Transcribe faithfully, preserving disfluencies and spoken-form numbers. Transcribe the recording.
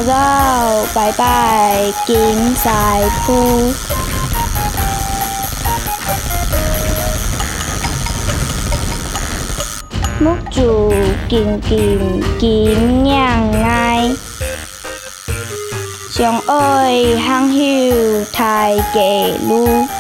老拜拜金赛铺。木竹金金金娘爱，相爱行休太家路。